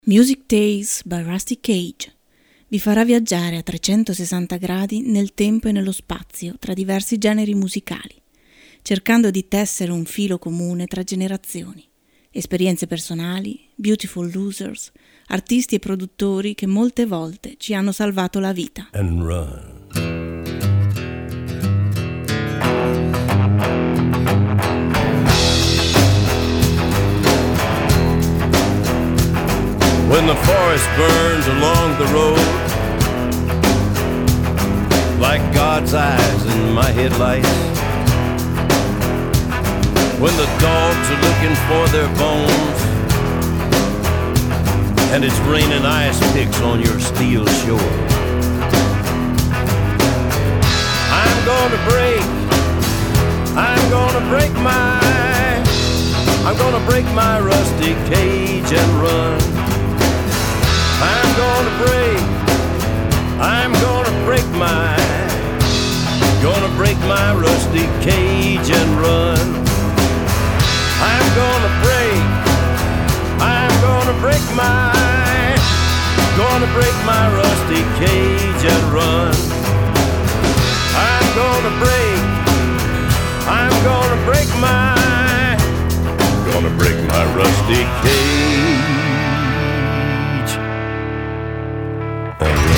Music Days by Rusty Cage vi farà viaggiare a 360 gradi nel tempo e nello spazio tra diversi generi musicali, cercando di tessere un filo comune tra generazioni, esperienze personali, beautiful losers, artisti e produttori che molte volte ci hanno salvato la vita. And run. When the forest burns along the road, like God's eyes in my headlights, when the dogs are looking for their bones, and it's raining ice picks on your steel shore, I'm gonna break my rusty cage and run. I'm gonna break my rusty cage and run. I'm gonna break my rusty cage and run. I'm gonna break my rusty cage and run.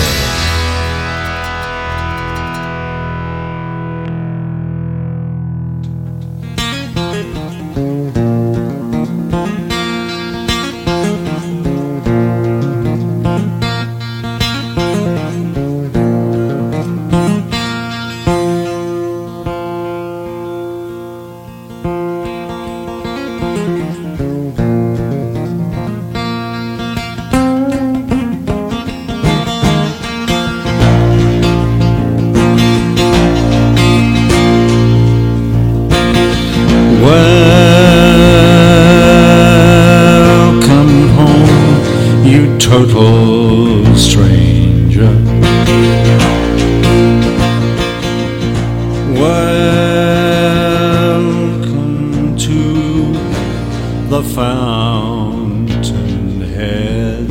Total stranger, welcome to the fountainhead.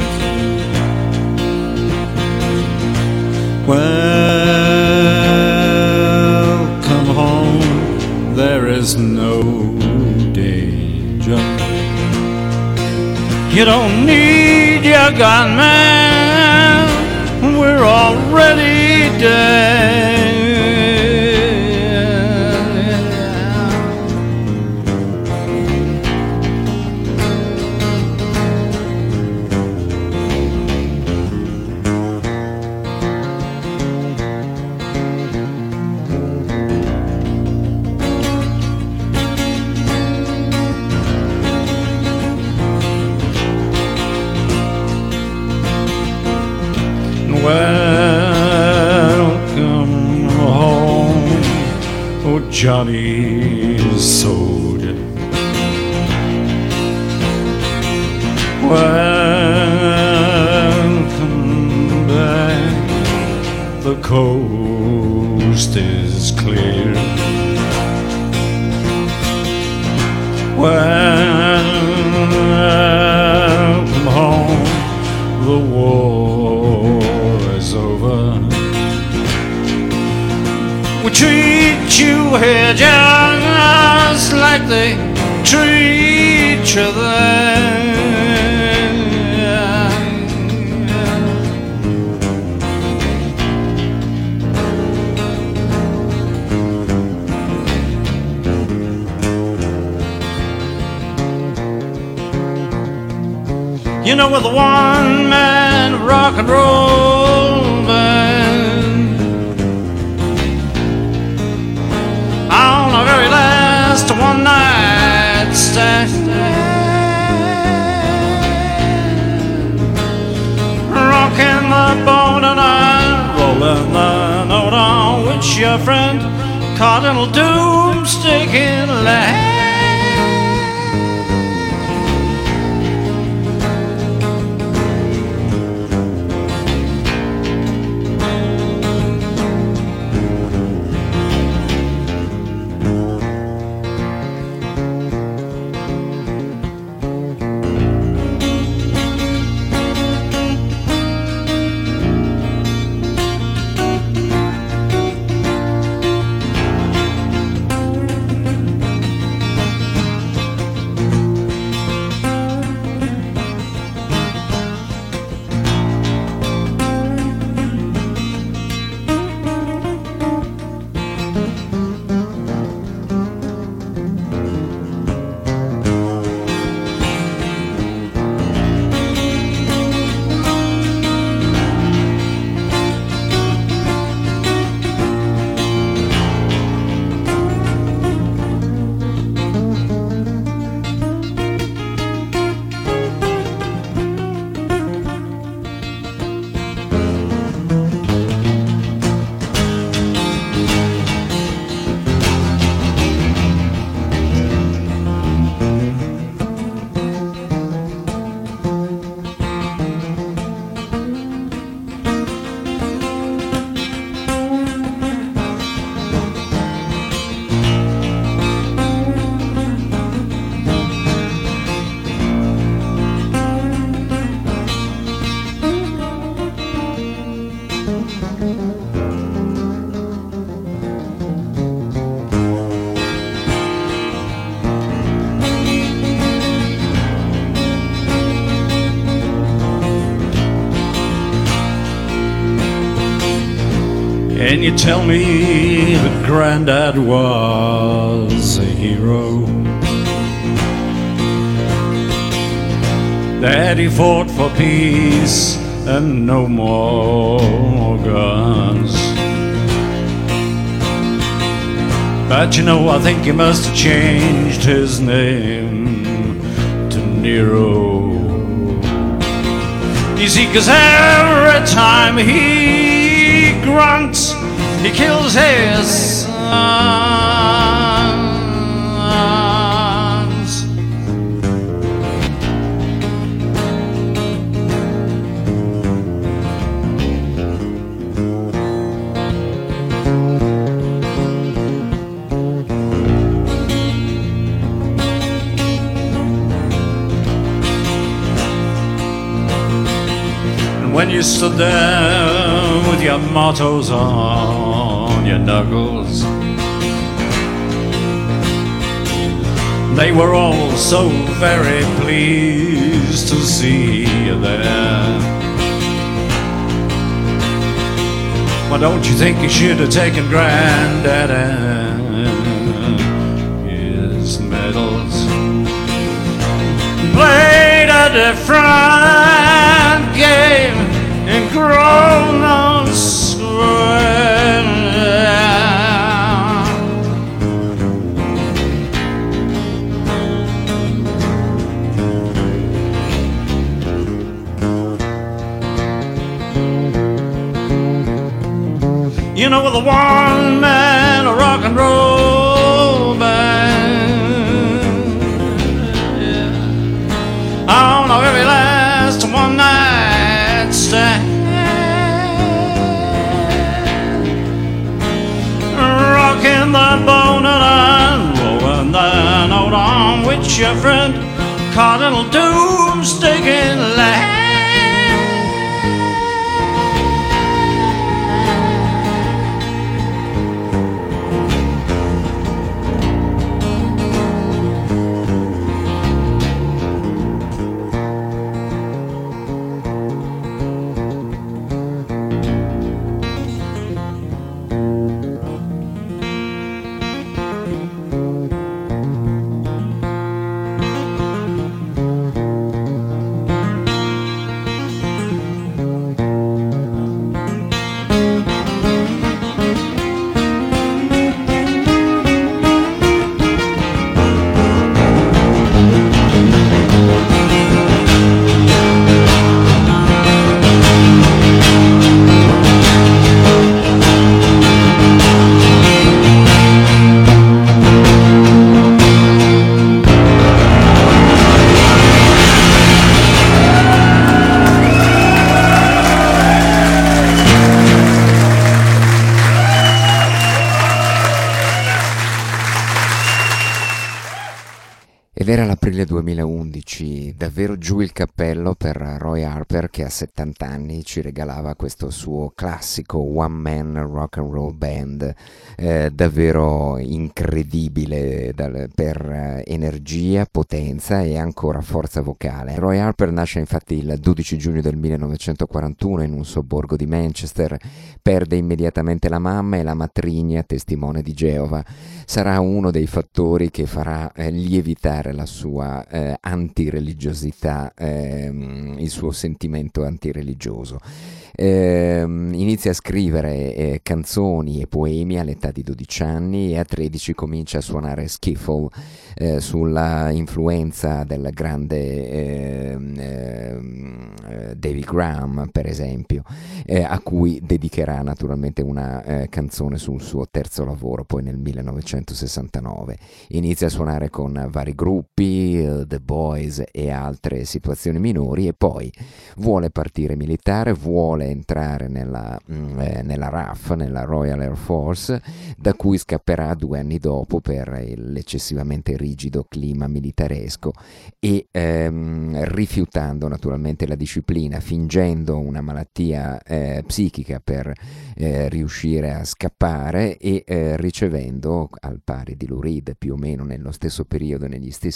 Welcome home, there is no danger. You don't need your gunman, we're already dead. Welcome home, oh Johnny soldier. Welcome back, the coast is clear. Welcome home, the war is over. We treat you here just like they treat each other. You know, with a one-man rock and roll band, on the very last one-night stand, rocking the boat and I rolling the note on which your friend Cardinal Doomstick in land. Can you tell me that Grandad was a hero? That he fought for peace and no more guns. But you know, I think he must have changed his name to Nero. You see, 'cause every time he grunts, he kills his sons. When you stood there with your mottos on your knuckles, they were all so very pleased to see you there. Why don't you think you should have taken Granddad and his medals, played a different game in Grosvenor Square? You know, with a one-man rock and roll band, yeah. On our very last one-night stand, rocking the bone and rolling the note on which your friend Cardinal Doomstick in land. Ed era l'aprile 2011, davvero giù il cappello per Roy Harper, che a 70 anni ci regalava questo suo classico one man rock and roll band, davvero incredibile per energia, potenza e ancora forza vocale. Roy Harper nasce infatti il 12 giugno del 1941 in un sobborgo di Manchester, perde immediatamente la mamma e la matrigna, testimone di Geova. Sarà uno dei fattori che farà lievitare la sua antireligiosità, il suo sentimento antireligioso. Inizia a scrivere canzoni e poemi all'età di 12 anni e a 13 comincia a suonare skiffle sulla influenza del grande David Graham, per esempio, a cui dedicherà naturalmente una canzone sul suo terzo lavoro, poi nel 1969. Inizia a suonare con vari gruppi, The Boys e altre situazioni minori, e poi vuole partire militare, vuole entrare nella RAF, nella Royal Air Force, da cui scapperà 2 anni dopo per l'eccessivamente rigido clima militaresco e rifiutando naturalmente la disciplina, fingendo una malattia psichica per riuscire a scappare e ricevendo, al pari di Lou Reed, più o meno nello stesso periodo, negli stessi anni,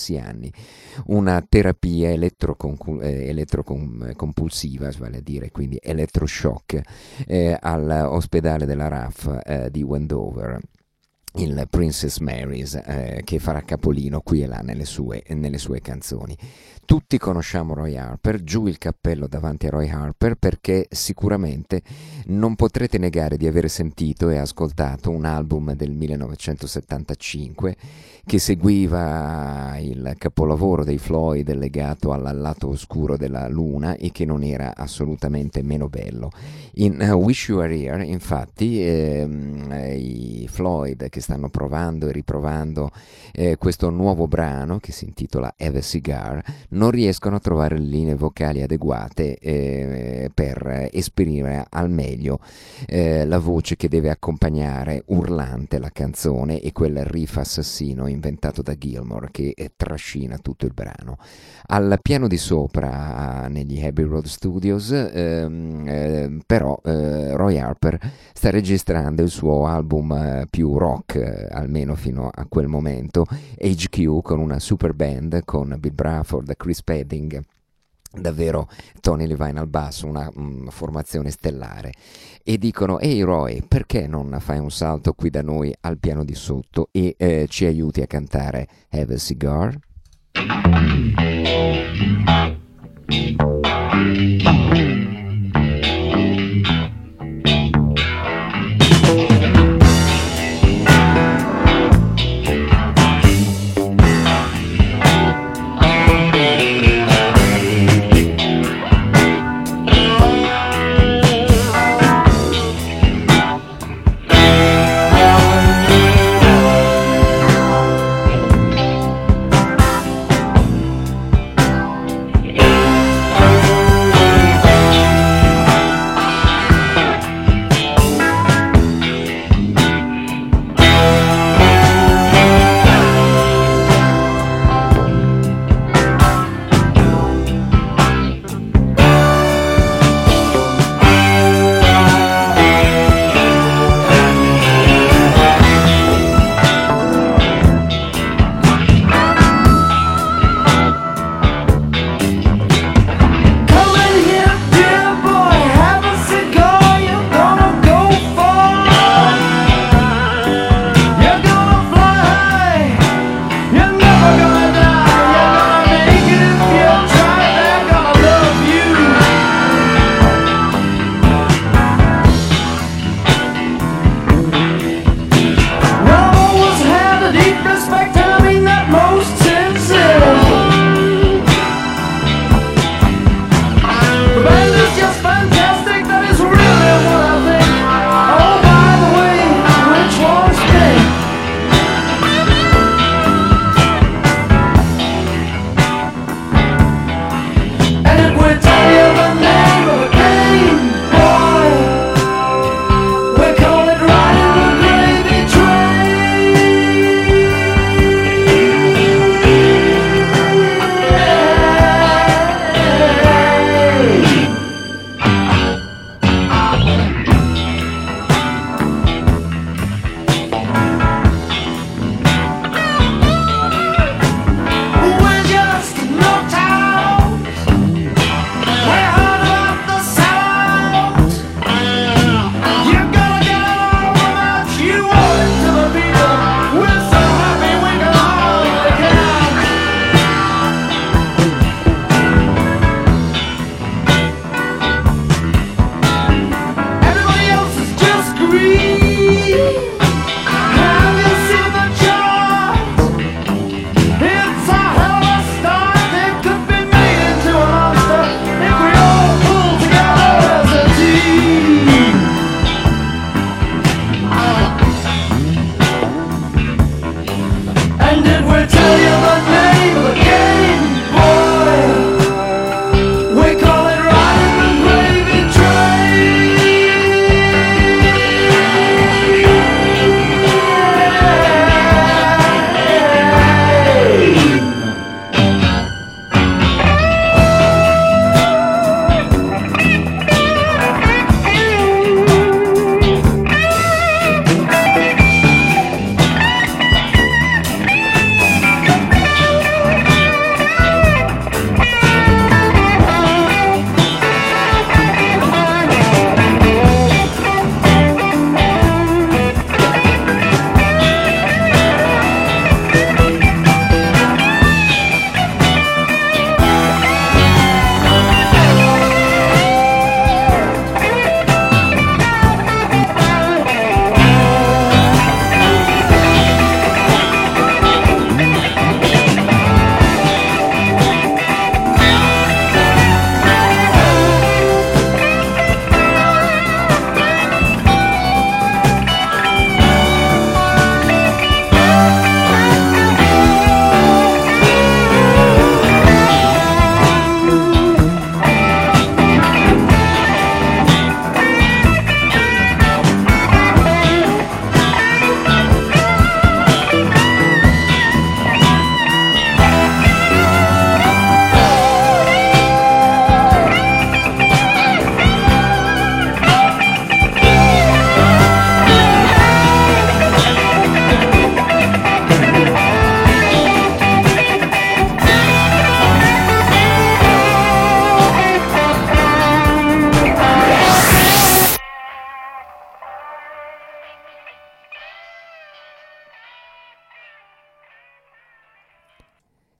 anni. Una terapia elettrocompulsiva, vale a dire quindi elettroshock, all'ospedale della RAF di Wendover, il Princess Mary's, che farà capolino qui e là nelle sue canzoni. Tutti conosciamo Roy Harper, giù il cappello davanti a Roy Harper, perché sicuramente non potrete negare di aver sentito e ascoltato un album del 1975 che seguiva il capolavoro dei Floyd legato al lato oscuro della luna e che non era assolutamente meno bello. In Wish You Were Here, infatti, i Floyd, che stanno provando e riprovando questo nuovo brano che si intitola Have a Cigar, non riescono a trovare le linee vocali adeguate per esprimere al meglio la voce che deve accompagnare urlante la canzone e quel riff assassino inventato da Gilmour che trascina tutto il brano. Al piano di sopra negli Abbey Road Studios però Roy Harper sta registrando il suo album più rock, almeno fino a quel momento, HQ, con una super band con Bill Bruford, Chris Spedding, davvero Tony Levine al basso, una formazione stellare, e dicono: ehi Roy, perché non fai un salto qui da noi al piano di sotto e ci aiuti a cantare Have a Cigar?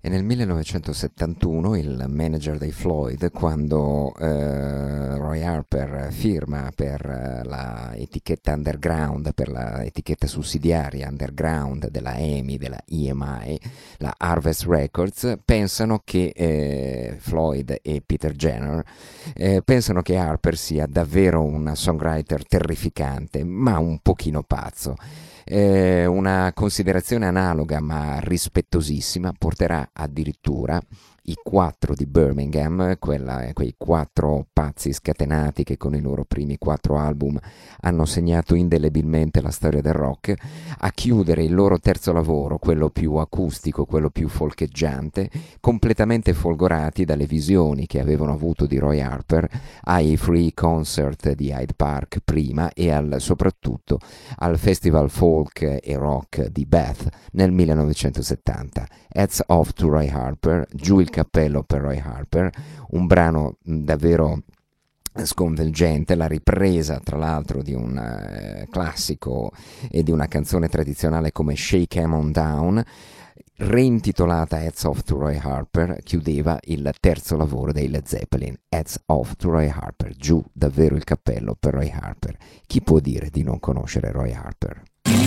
E nel 1971 il manager dei Floyd, quando Roy Harper firma per la etichetta underground, per la etichetta sussidiaria underground della EMI, della EMI, la Harvest Records, pensano che Floyd e Peter Jenner pensano che Harper sia davvero un songwriter terrificante, ma un pochino pazzo. Una considerazione analoga ma rispettosissima porterà addirittura i 4 di Birmingham, quei 4 pazzi scatenati che con i loro primi 4 album hanno segnato indelebilmente la storia del rock, a chiudere il loro terzo lavoro, quello più acustico, quello più folcheggiante, completamente folgorati dalle visioni che avevano avuto di Roy Harper ai free concert di Hyde Park prima e soprattutto al festival folk e rock di Bath nel 1970. Hats off to Roy Harper, giù il cappello per Roy Harper, un brano davvero sconvolgente, la ripresa tra l'altro di un classico e di una canzone tradizionale come Shake 'Em On Down, reintitolata Hats Off to Roy Harper, chiudeva il terzo lavoro dei Led Zeppelin. Hats Off to Roy Harper, giù davvero il cappello per Roy Harper. Chi può dire di non conoscere Roy Harper?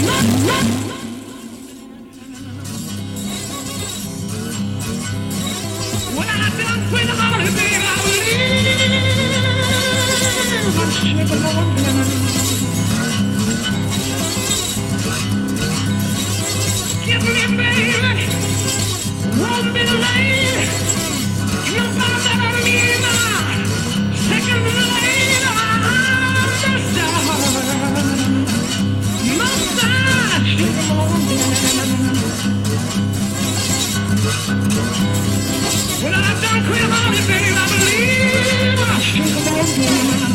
When I done with all the baby, I believe give me, baby, won't be late. You're gonna be my second lady. Massage, come on, when I done quit on it, baby, I believe I should come on.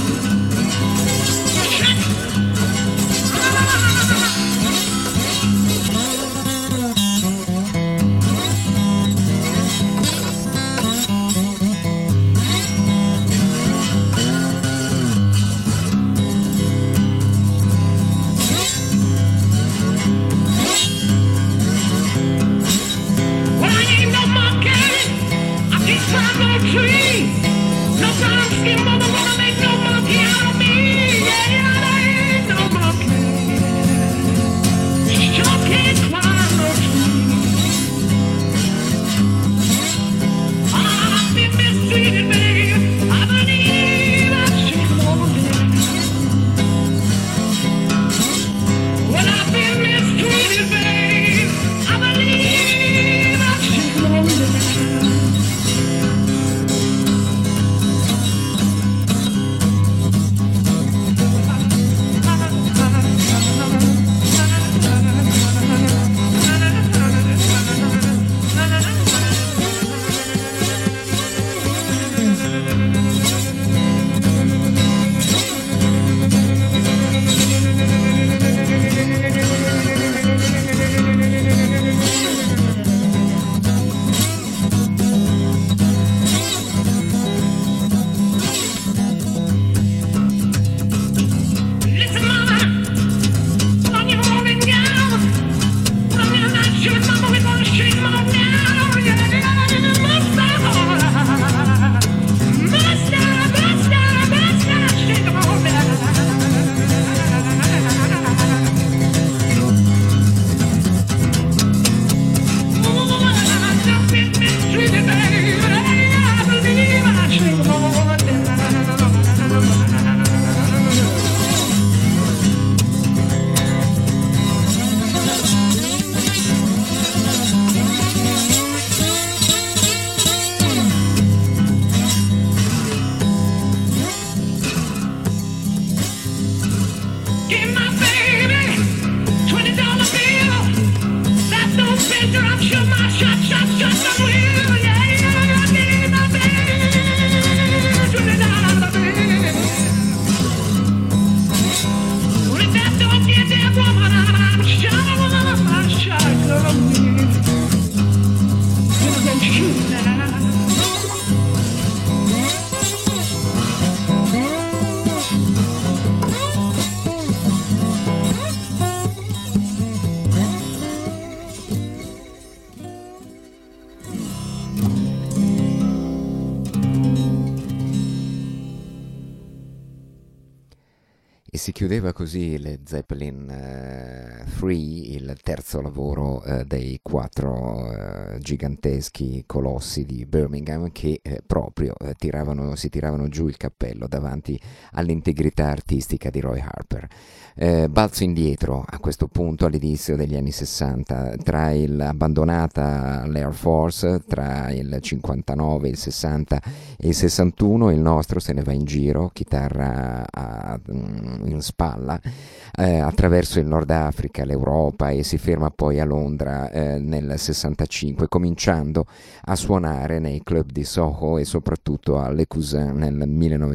E si chiudeva così Led Zeppelin 3, il terzo lavoro dei 4 giganteschi colossi di Birmingham che proprio si tiravano giù il cappello davanti all'integrità artistica di Roy Harper. Balzo indietro a questo punto all'inizio degli anni 60, abbandonata l'Air Force tra il 59, il 60 e il 61, il nostro se ne va in giro, chitarra in spalla, attraverso il Nord Africa, l'Europa, e si ferma poi a Londra nel 65, cominciando a suonare nei club di Soho e soprattutto a Le Cousin nel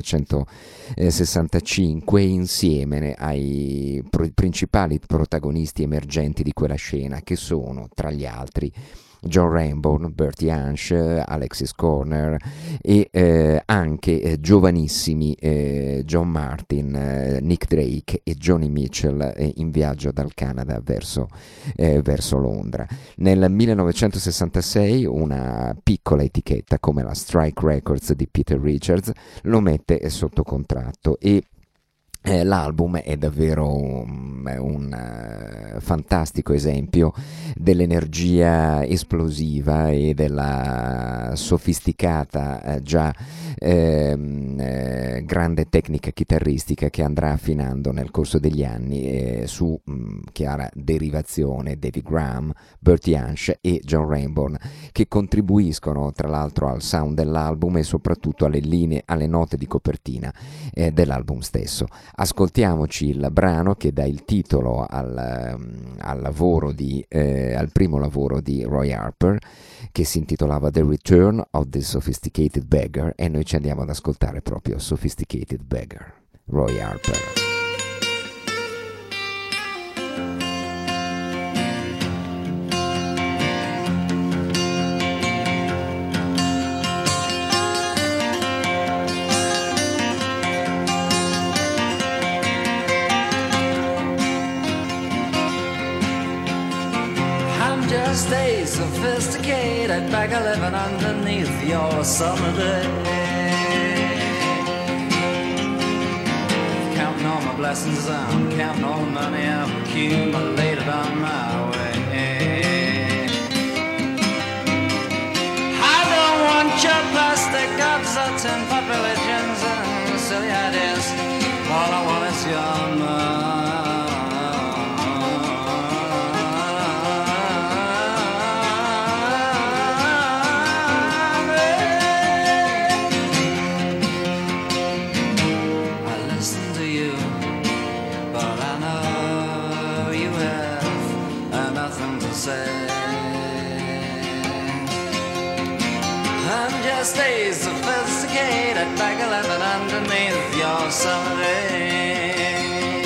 1965, insieme ai principali protagonisti emergenti di quella scena, che sono tra gli altri John Rainbow, Bertie Hansch, Alexis Corner e anche giovanissimi John Martin, Nick Drake e Joni Mitchell in viaggio dal Canada verso Londra. Nel 1966 una piccola etichetta come la Strike Records di Peter Richards lo mette sotto contratto e l'album è davvero un fantastico esempio dell'energia esplosiva e della sofisticata grande tecnica chitarristica che andrà affinando nel corso degli anni su chiara derivazione David Graham, Bertie Hansch e John Rainbow, che contribuiscono tra l'altro al sound dell'album e soprattutto alle linee, alle note di copertina dell'album stesso. Ascoltiamoci il brano che dà il titolo al primo lavoro di Roy Harper, che si intitolava The Return of the Sophisticated Beggar, e noi ci andiamo ad ascoltare proprio Sophisticated Beggar, Roy Harper. Just a sophisticated beggar living underneath your summer day, counting all my blessings, I'm counting all the money I've accumulated on my way. I don't want your plastic gods or tin pot religions and silly ideas. All I want is your money. Stay sophisticated, beggar living underneath your summer day.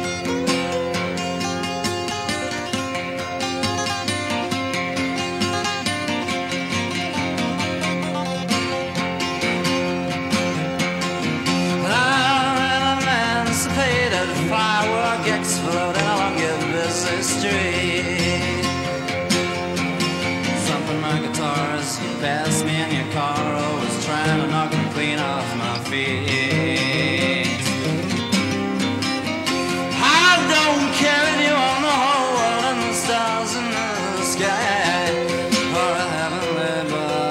I'm emancipated, firework exploding along your busy street. Thumping my guitars, you pass me in your car, always trying to knock me clean off my feet. I don't care if you own the whole world and the stars in the sky, or a heavenly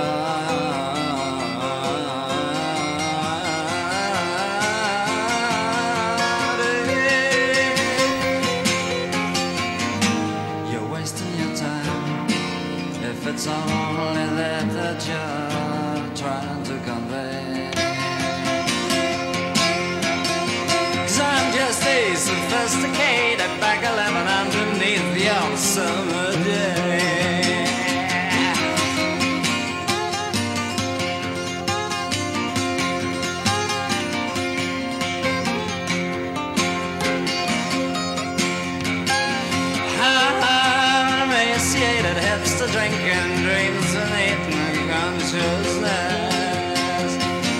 body. You're wasting your time if it's only that you're trying to convey. 'Cause I'm just a sophisticated beggar living underneath your summer day. I'm emaciated, hipster drinking dreams and eating consciousness,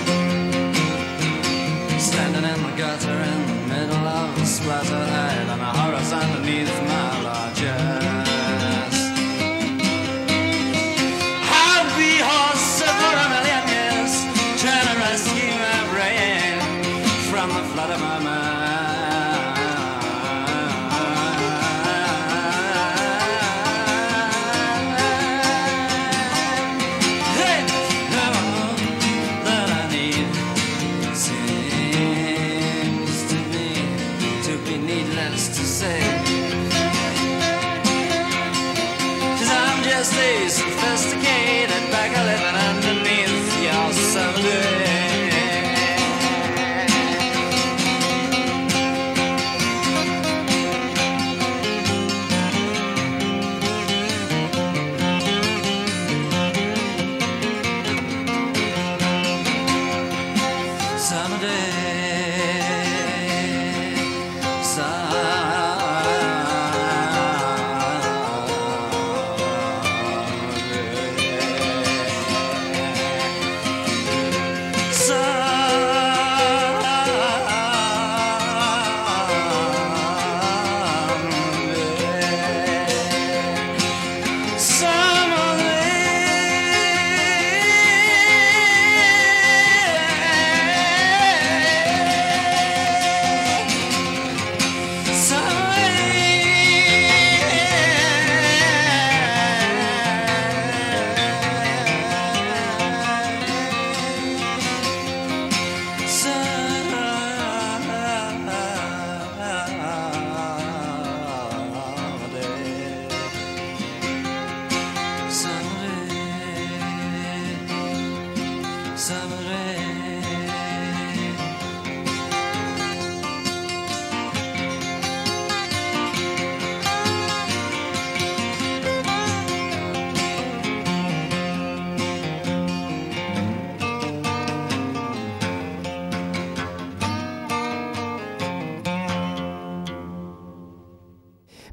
standing in the gutter in the middle of a splatter head and a horizon underneath my largest. I'll be horse for a million years, trying to rescue my brain from the flood of my mind.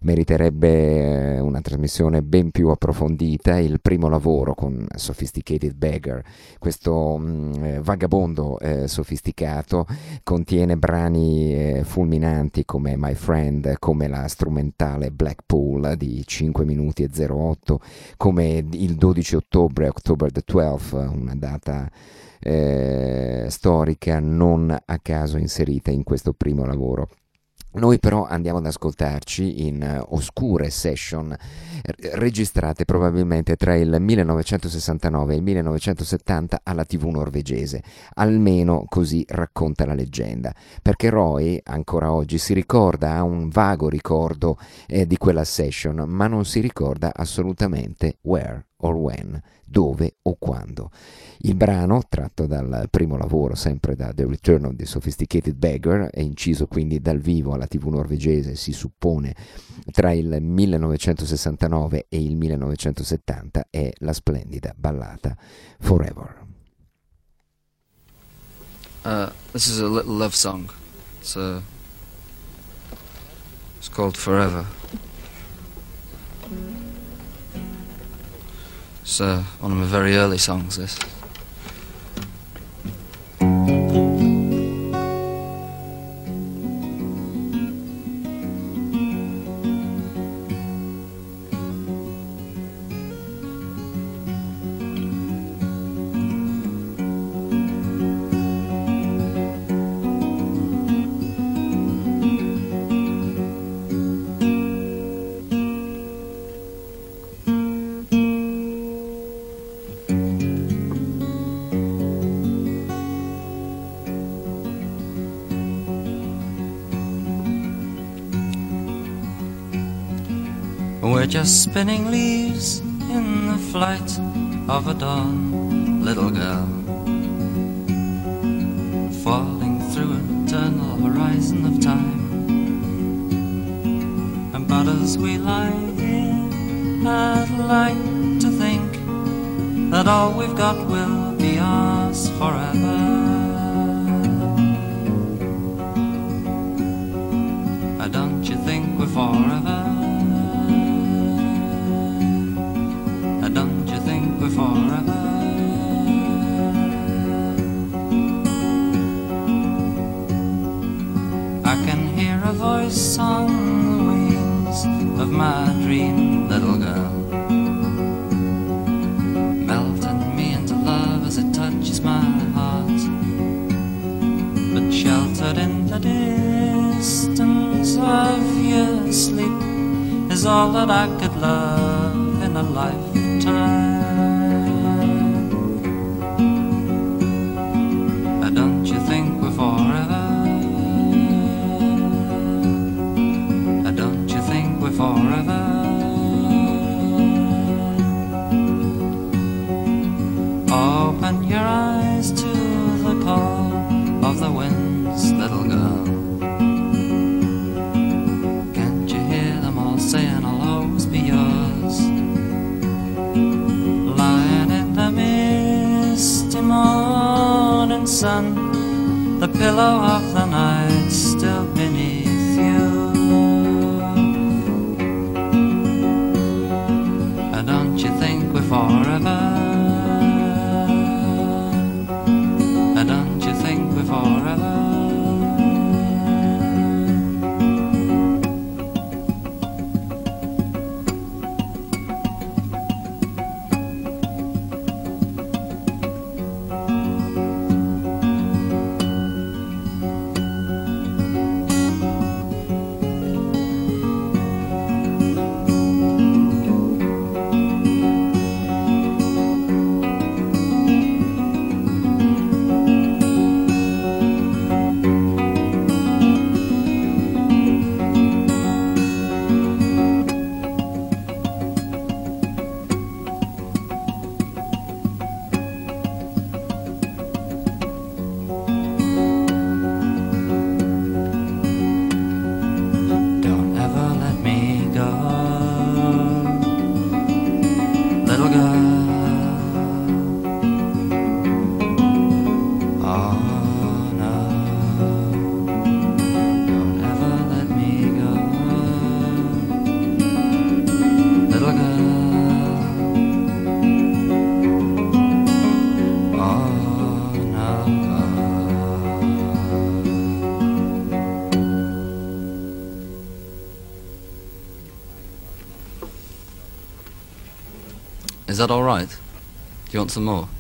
meriterebbe una trasmissione ben più approfondita. Il primo lavoro con Sophisticated Beggar, questo vagabondo sofisticato, contiene brani fulminanti come My Friend, come la strumentale Blackpool di 5 minuti e 08, come il 12 ottobre, October the 12th, una data storica non a caso inserita in questo primo lavoro. Noi però andiamo ad ascoltarci in oscure session registrate probabilmente tra il 1969 e il 1970 alla TV norvegese, almeno così racconta la leggenda, perché Roy ancora oggi si ricorda, ha un vago ricordo di quella session, ma non si ricorda assolutamente where or when, dove o quando. Il brano, tratto dal primo lavoro, sempre da The Return of the Sophisticated Beggar, è inciso quindi dal vivo alla TV norvegese, si suppone tra il 1969 e il 1970, è la splendida ballata Forever. This is a little love song. It's called Forever. It's one of my very early songs, this. We're just spinning leaves in the flight of a dawn, little girl, falling through an eternal horizon of time. But as we lie here, I'd like to think that all we've got will be ours forever. Don't you think we're forever? Don't you think we're forever? I can hear a voice on the wings of my dream, little girl, melting me into love as it touches my heart. But sheltered in the distance of your sleep is all that I could love in a lifetime. Don't you think we're forever? Don't you think we're forever? Open your eyes to the call of the winds, little girl. Can't you hear them all saying I'll always be yours? Lying in the misty morning sun, the pillow of the night still beneath you. Don't you think we're forever? Don't you think we're forever? Is that all right? Do you want some more?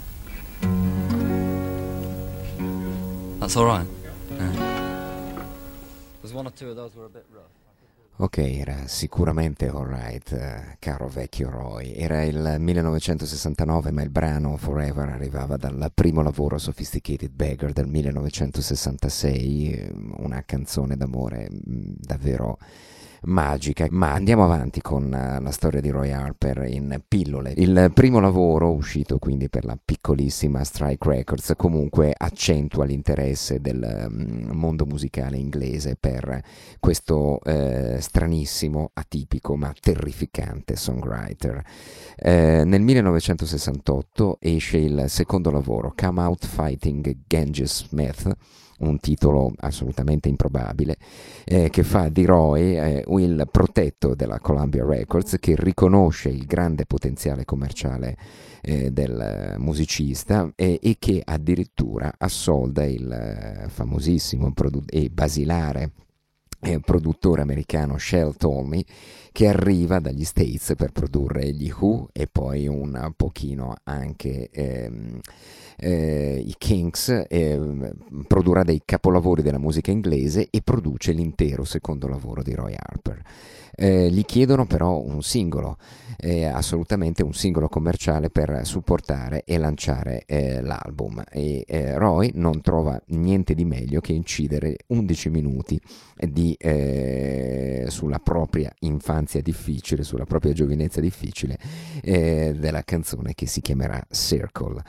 That's all right. Yeah. There's one or two of those were a bit rough. Ok, era sicuramente alright, caro vecchio Roy. Era il 1969, ma il brano Forever arrivava dal primo lavoro Sophisticated Beggar del 1966, una canzone d'amore davvero magica. Ma andiamo avanti con la storia di Roy Harper in pillole. Il primo lavoro, uscito quindi per la piccolissima Strike Records, comunque accentua l'interesse del mondo musicale inglese per questo stranissimo, atipico ma terrificante songwriter. Nel 1968 esce il secondo lavoro, Come Out Fighting Genghis Smith, un titolo assolutamente improbabile, che fa di Roy il protetto della Columbia Records, che riconosce il grande potenziale commerciale del musicista e che addirittura assolda il famosissimo e basilare produttore americano Shel Talmy, che arriva dagli States per produrre gli Who e poi un pochino anche i Kinks, produrrà dei capolavori della musica inglese e produce l'intero secondo lavoro di Roy Harper. Gli chiedono però un singolo, assolutamente un singolo commerciale per supportare e lanciare l'album, e Roy non trova niente di meglio che incidere 11 minuti sulla propria infanzia difficile, sulla propria giovinezza difficile, della canzone che si chiamerà Circle.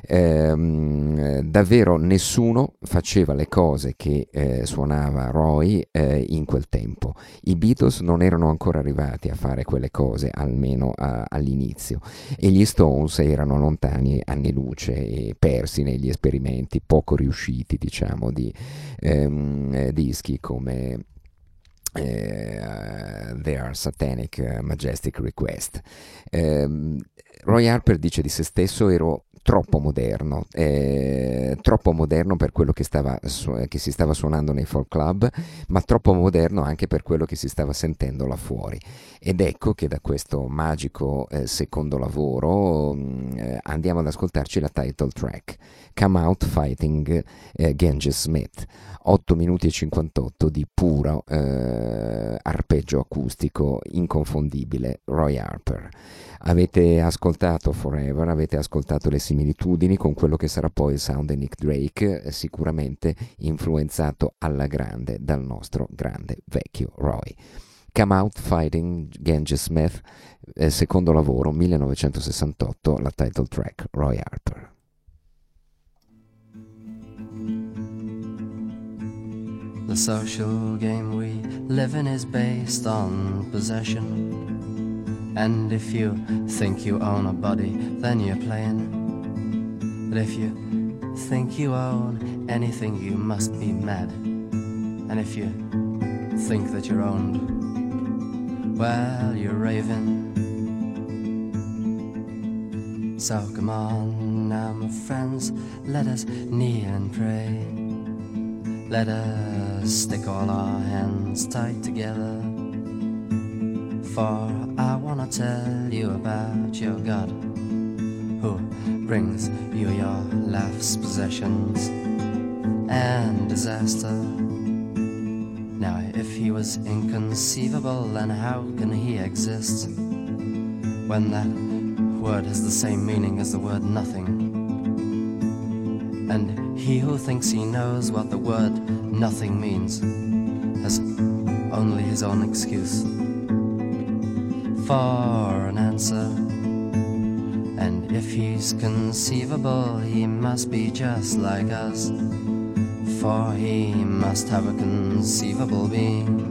Davvero nessuno faceva le cose che suonava Roy in quel tempo. I Beatles non erano ancora arrivati a fare quelle cose, almeno all'inizio, e gli Stones erano lontani anni luce e persi negli esperimenti poco riusciti, diciamo, di dischi come Their Satanic Majestic Request. Roy Harper dice di se stesso: ero troppo moderno per quello che si stava suonando nei folk club, ma troppo moderno anche per quello che si stava sentendo là fuori. Ed ecco che da questo magico secondo lavoro andiamo ad ascoltarci la title track, Come Out Fighting Genghis Smith, 8 minuti e 58 di puro arpeggio acustico inconfondibile Roy Harper. Avete ascoltato Forever, avete ascoltato le similitudini con quello che sarà poi il sound di Nick Drake, sicuramente influenzato alla grande dal nostro grande vecchio Roy. Come Out Fighting Genghis Smith, secondo lavoro 1968, la title track Roy Harper. The social game we live in is based on possession. And if you think you own a body, then you're playing. But if you think you own anything, you must be mad. And if you think that you're owned, well, you're raving. So come on now, my friends, let us kneel and pray. Let us stick all our hands tight together. For I wanna tell you about your God, who brings you your life's possessions and disaster. Now if he was inconceivable, then how can he exist, when that word has the same meaning as the word nothing? And he who thinks he knows what the word nothing means has only his own excuse for an answer. And if he's conceivable, he must be just like us, for he must have a conceivable being.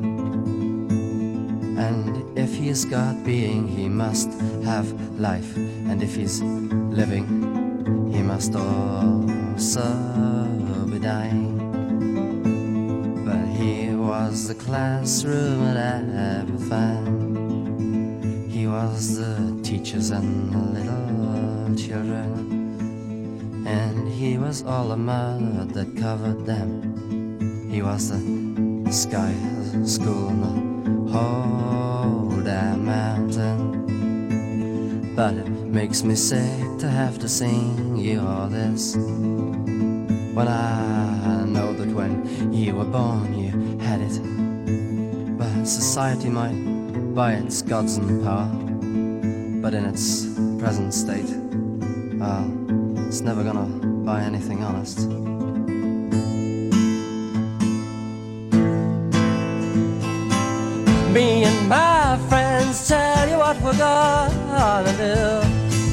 And if he's got being, he must have life. And if he's living, he must also be dying. But he was the classroom at Aberfan. He was the teachers and the little children, and he was all the mud that covered them. He was the sky, the school, and the whole damn mountain. but it makes me sick to have to sing you all this. When I know that when you were born you had it, but society might buy its gods and power, but in its present state, well, it's never gonna buy anything honest. Me and my friends tell you what we're gonna do.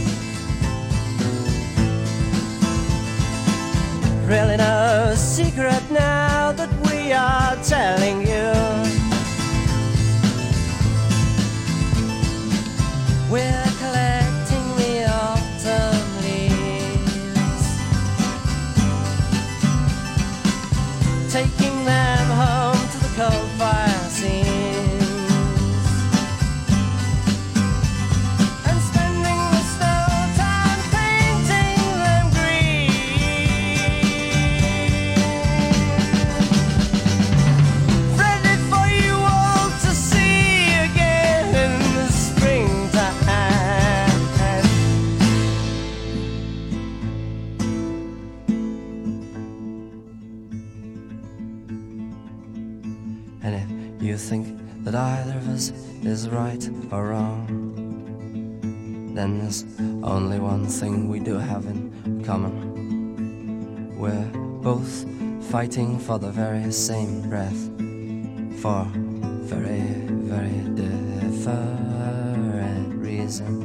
Really no secret now that we are telling you. We're collecting the autumn leaves, taking them home to the coal fire scenes, and spending the snow time painting them green. Ready for you all to see again in the springtime. And if you think that either of us is right or wrong, then there's only one thing we do have in common. We're both fighting for the very same breath, for very, very different reasons.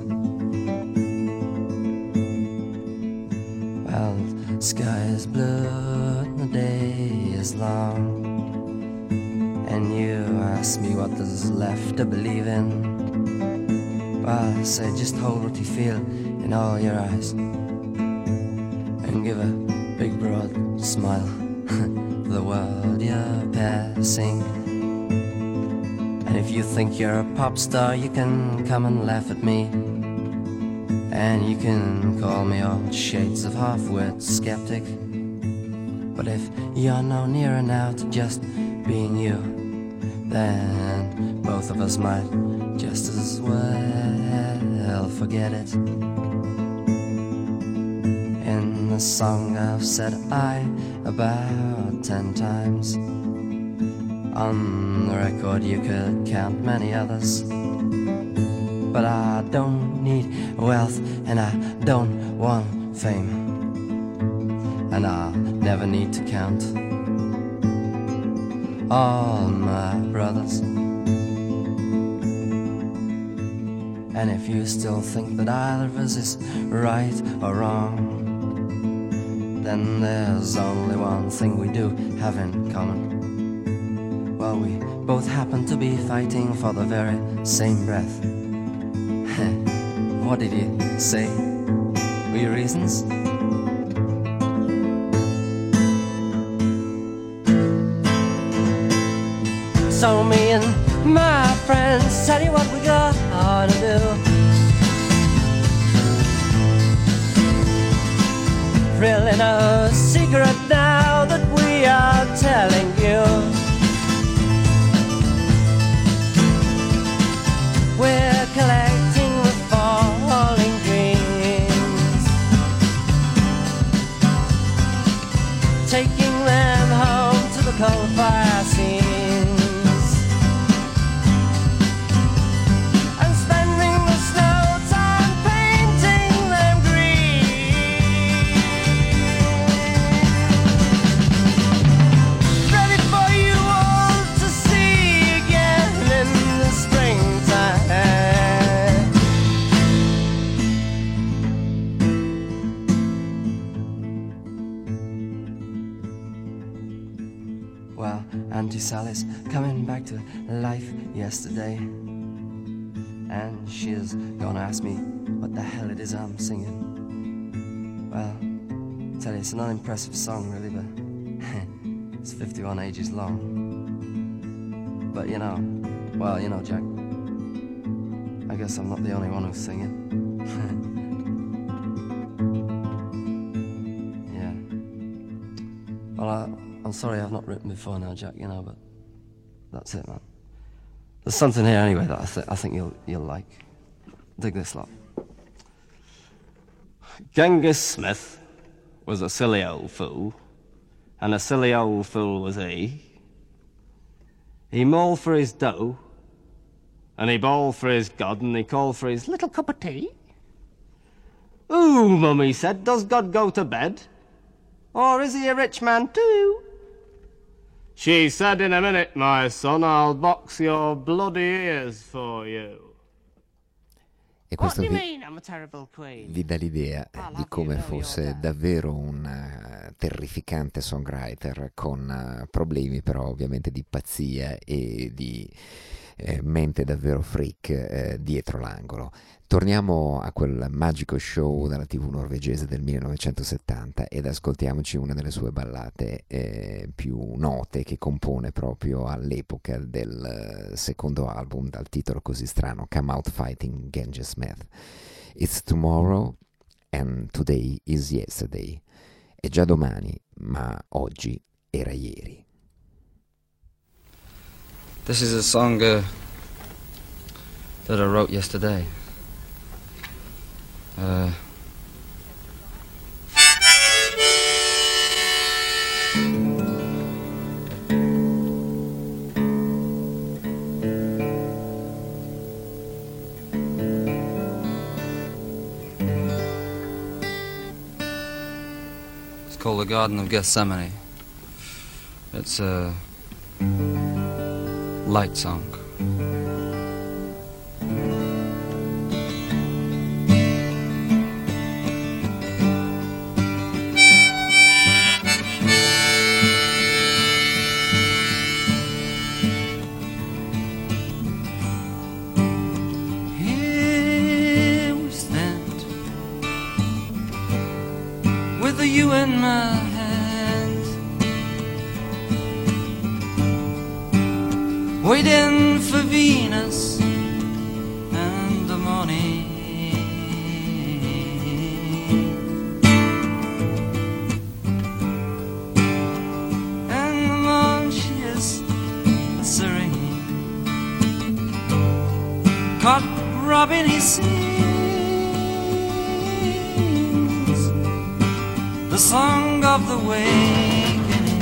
Well, the sky is blue and the day is long, and you ask me what there's left to believe in. Well, I say just hold what you feel in all your eyes, and give a big broad smile to the world you're passing. And if you think you're a pop star, you can come and laugh at me, and you can call me all shades of half-wit skeptic. But if you're no nearer now to just being you, then both of us might just as well forget it. In the song I've said I about 10 times. On the record you could count many others. But I don't need wealth, and I don't want fame, and I'll never need to count all my brothers. And if you still think that either of us is right or wrong, then there's only one thing we do have in common. Well, we both happen to be fighting for the very same breath. What did you say? Were your reasons? So me and my friends tell you what we gonna do. Really no secret now that we are telling you. We're collecting the falling dreams, taking them home to the coal fire scenes. Auntie Sally's coming back to life yesterday, and she's gonna ask me what the hell it is I'm singing. Well, I tell you, it's an unimpressive song really, but it's 51 ages long. But you know, well, you know, Jack, I guess I'm not the only one who's singing. Yeah. Well, I'm sorry I've not written before now, Jack, you know, but that's it, man. There's something here anyway that I think you'll like. Dig this lot. Genghis Smith was a silly old fool, and a silly old fool was he. He mauled for his dough, and he bawled for his God, and he called for his little cup of tea. Ooh, Mummy said, does God go to bed? Or is he a rich man too? She said, in a minute, my son, I'll box your bloody ears for you. E questo vi dà l'idea di come fosse davvero un terrificante songwriter con problemi però ovviamente di pazzia e di mente davvero freak dietro l'angolo. Torniamo a quel magico show dalla TV norvegese del 1970 ed ascoltiamoci una delle sue ballate più note che compone proprio all'epoca del secondo album dal titolo così strano, Come Out Fighting Genghis Smith. It's tomorrow and today is yesterday. È già domani, ma oggi era ieri. This is a song that I wrote yesterday. It's called The Garden of Gethsemane. It's a light song. You in my hands, waiting for Venus and the morning, and the moon she is serene, caught Robin he sings the song of the wakening,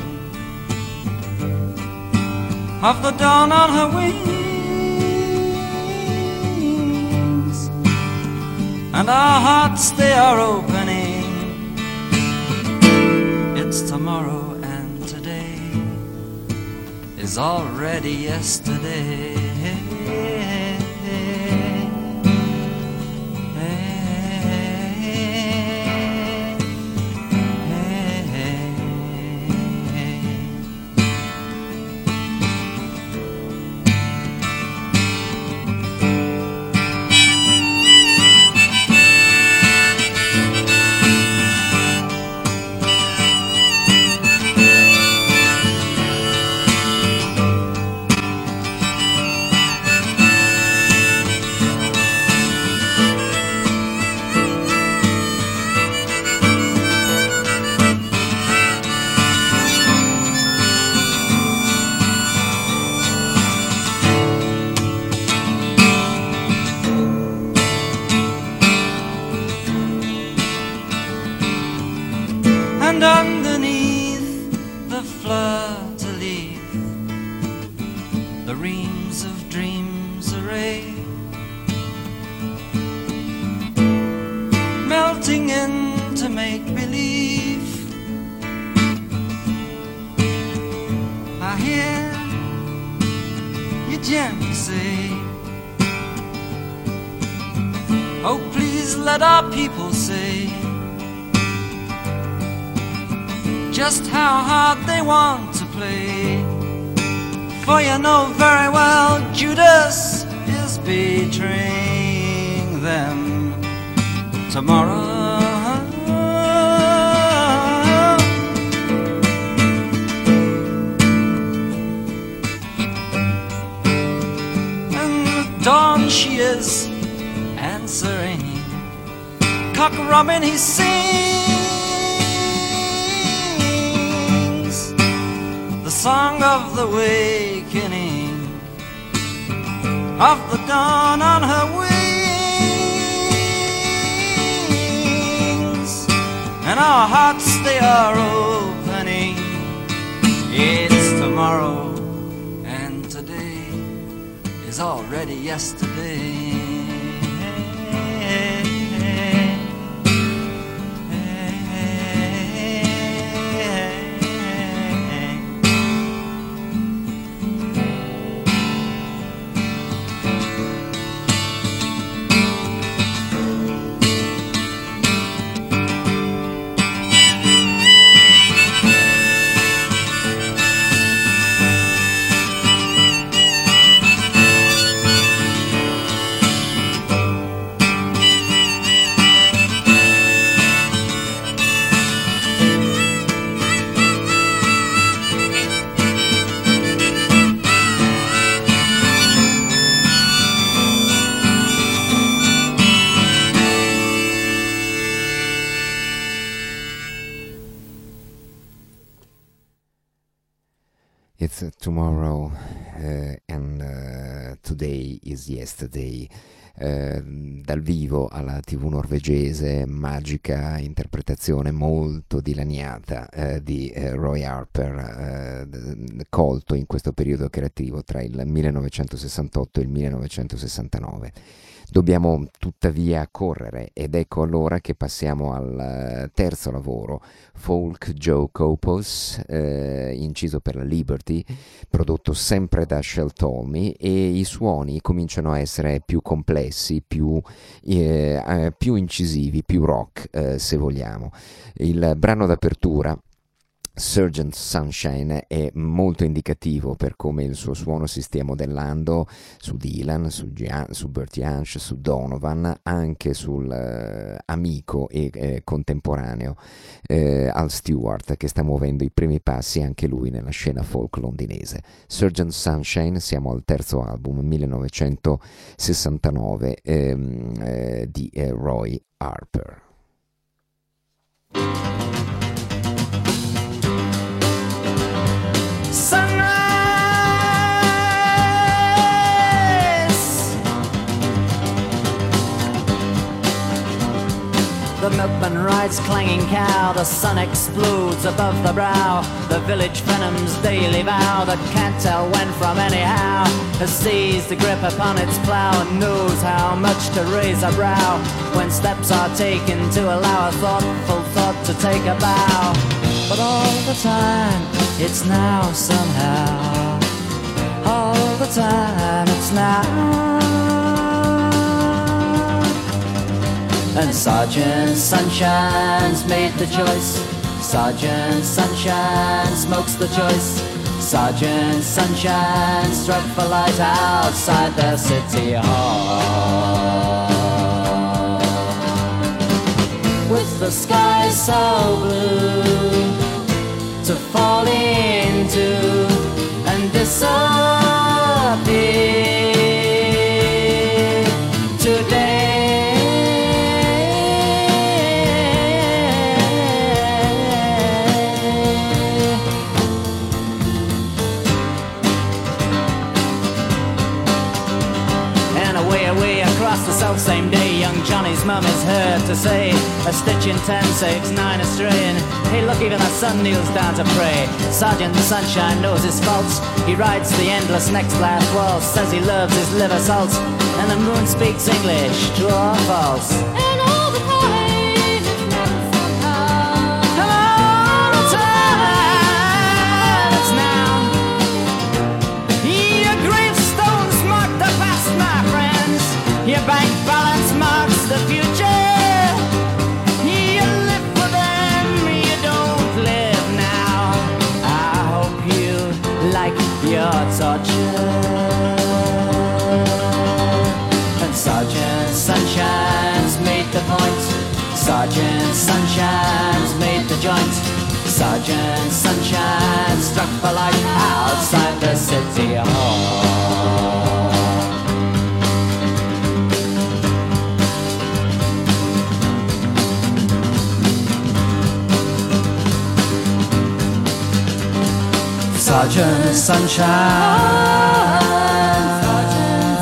of the dawn on her wings, and our hearts they are opening. It's tomorrow and today is already yesterday. And underneath the fleur-de-lis, the reams of dreams array, melting into make-believe. I hear you gently say, oh, please let our people say just how hard they want to play. For you know very well Judas is betraying them tomorrow. And with dawn she is answering, cock robin he sings the song of the wakening, of the dawn on her wings, and our hearts they are opening. It's tomorrow, and today is already yesterday. It's tomorrow and today is yesterday. Dal vivo alla TV norvegese, magica interpretazione molto dilaniata di Roy Harper, colto in questo periodo creativo tra il 1968 e il 1969. Dobbiamo tuttavia correre ed ecco allora che passiamo al terzo lavoro, Folk Joe Copos, inciso per la Liberty, prodotto sempre da Shel Talmy, e i suoni cominciano a essere più complessi, più incisivi, più rock se vogliamo. Il brano d'apertura, Sergeant Sunshine, è molto indicativo per come il suo suono si stia modellando su Dylan, su Bert Jansch, su Donovan, anche sul amico e contemporaneo Al Stewart, che sta muovendo i primi passi anche lui nella scena folk londinese. Sergeant Sunshine, siamo al terzo album 1969 di Roy Harper. The milkman rides clanging cow, the sun explodes above the brow. The village venom's daily vow that can't tell when from anyhow has seized the grip upon its plow and knows how much to raise a brow when steps are taken to allow a thoughtful thought to take a bow. But all the time it's now somehow, all the time it's now. And Sergeant Sunshine's made the choice. Sergeant Sunshine smokes the choice. Sergeant Sunshine struck for light outside the city hall. With the sky so blue to fall into and disappear today. Same day, young Johnny's mum is heard to say, a stitch in 10, 6, 9 Australian. Hey look, even the sun kneels down to pray. Sergeant Sunshine knows his faults. He rides the endless next last waltz, says he loves his liver salt, and the moon speaks English, true or false. And all the time it's now somehow, and all the time it's now. Your gravestones mark the past, my friends. Your bank balance marks the future. You live for them, you don't live now. I hope you like your torture. And Sergeant Sunshine's made the point. Sergeant Sunshine's made the joint. Sergeant Sunshine struck the light outside the city hall. Sergeant Sunshine, Sergeant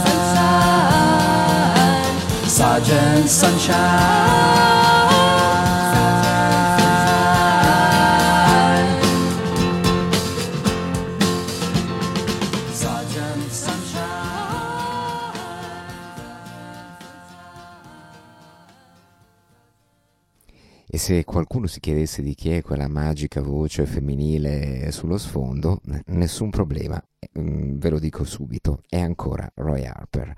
Sunshine, Sergeant Sunshine, se qualcuno si chiedesse di chi è quella magica voce femminile sullo sfondo, nessun problema, ve lo dico subito, è ancora Roy Harper.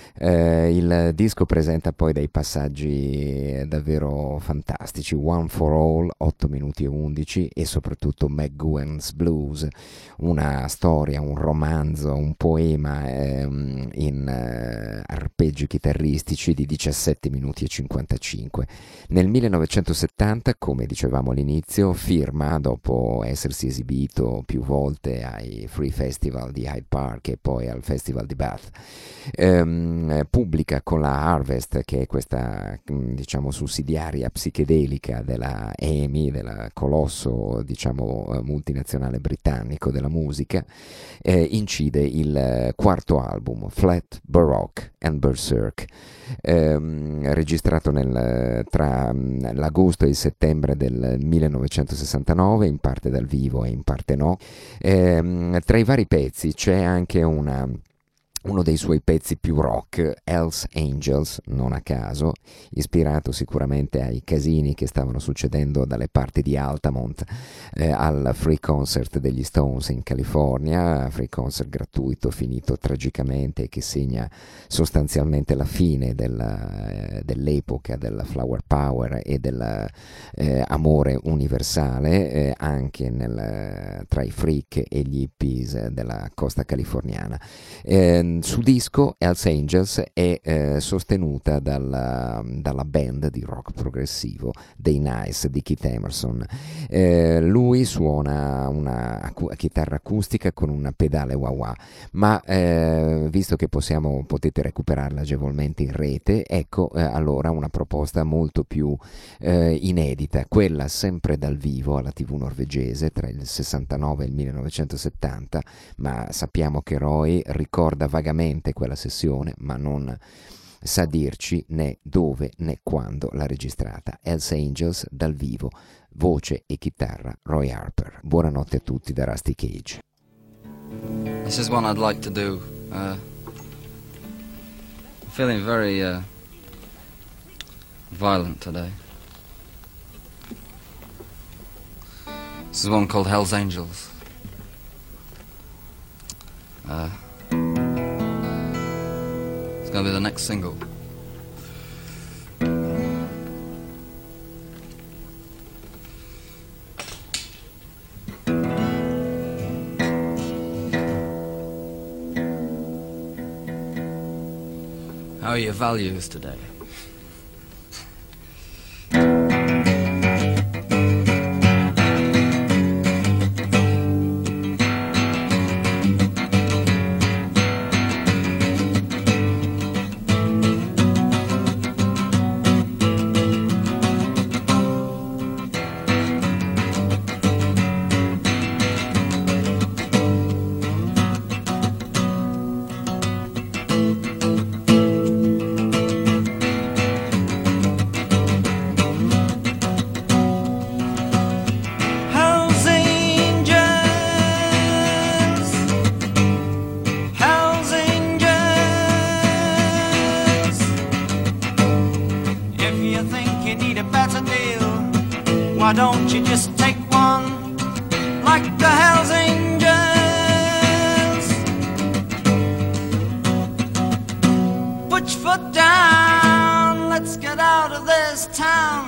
Il disco presenta poi dei passaggi davvero fantastici: One for All, 8 minuti e 11, e soprattutto McGowan's Blues, una storia, un romanzo, un poema in arpeggi chitarristici di 17 minuti e 55. Nel 1970, come dicevamo all'inizio, firma, dopo essersi esibito più volte ai Free Festival di Hyde Park e poi al Festival di Bath, pubblica con la Harvest, che è questa diciamo sussidiaria psichedelica della EMI, del colosso diciamo multinazionale britannico della musica, incide il quarto album, Flat, Baroque and Berserk, registrato tra l'agosto e il settembre del 1969, in parte dal vivo e in parte no. Tra i vari pezzi c'è anche uno dei suoi pezzi più rock, Hell's Angels, non a caso, ispirato sicuramente ai casini che stavano succedendo dalle parti di Altamont al Free Concert degli Stones in California, Free Concert gratuito finito tragicamente e che segna sostanzialmente la fine dell'epoca del Flower Power e dell'amore universale anche tra i freak e gli hippies della costa californiana. Su disco Hell's Angels è sostenuta dalla band di rock progressivo dei Nice di Keith Emerson. Lui suona una chitarra acustica con una pedale wah-wah, ma visto che potete recuperarla agevolmente in rete, ecco allora una proposta molto più inedita, quella sempre dal vivo alla TV norvegese tra il 69 e il 1970, ma sappiamo che Roy ricorda vagamente quella sessione, ma non sa dirci né dove né quando l'ha registrata. Hell's Angels dal vivo, voce e chitarra Roy Harper. Buonanotte a tutti da Rusty Cage. This is one I'd like to do. I'm feeling very violent today. This is one called Hell's Angels. It's gonna be the next single. How are your values today? Why don't you just take one like the Hells Angels? Put your foot down, let's get out of this town.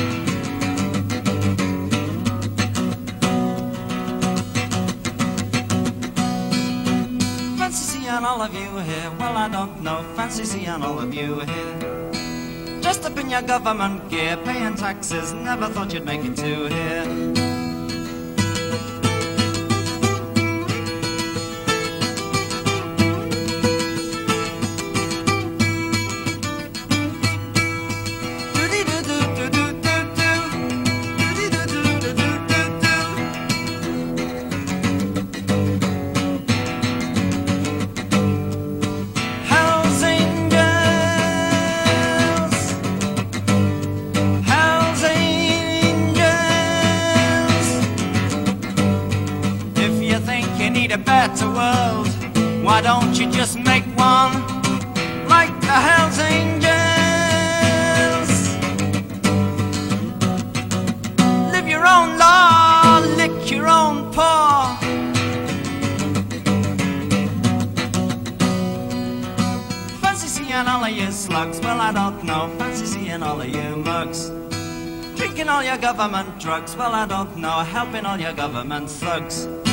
Fancy seeing all of you here, well I don't know, fancy seeing all of you here. Just up in your government gear, paying taxes, never thought you'd make it to here. Why don't you just make one like the Hells Angels? own law, lick your own paw. Fancy seeing all of you slugs, well I don't know. Fancy seeing all of you mugs, drinking all your government drugs, well I don't know. Helping all your government thugs.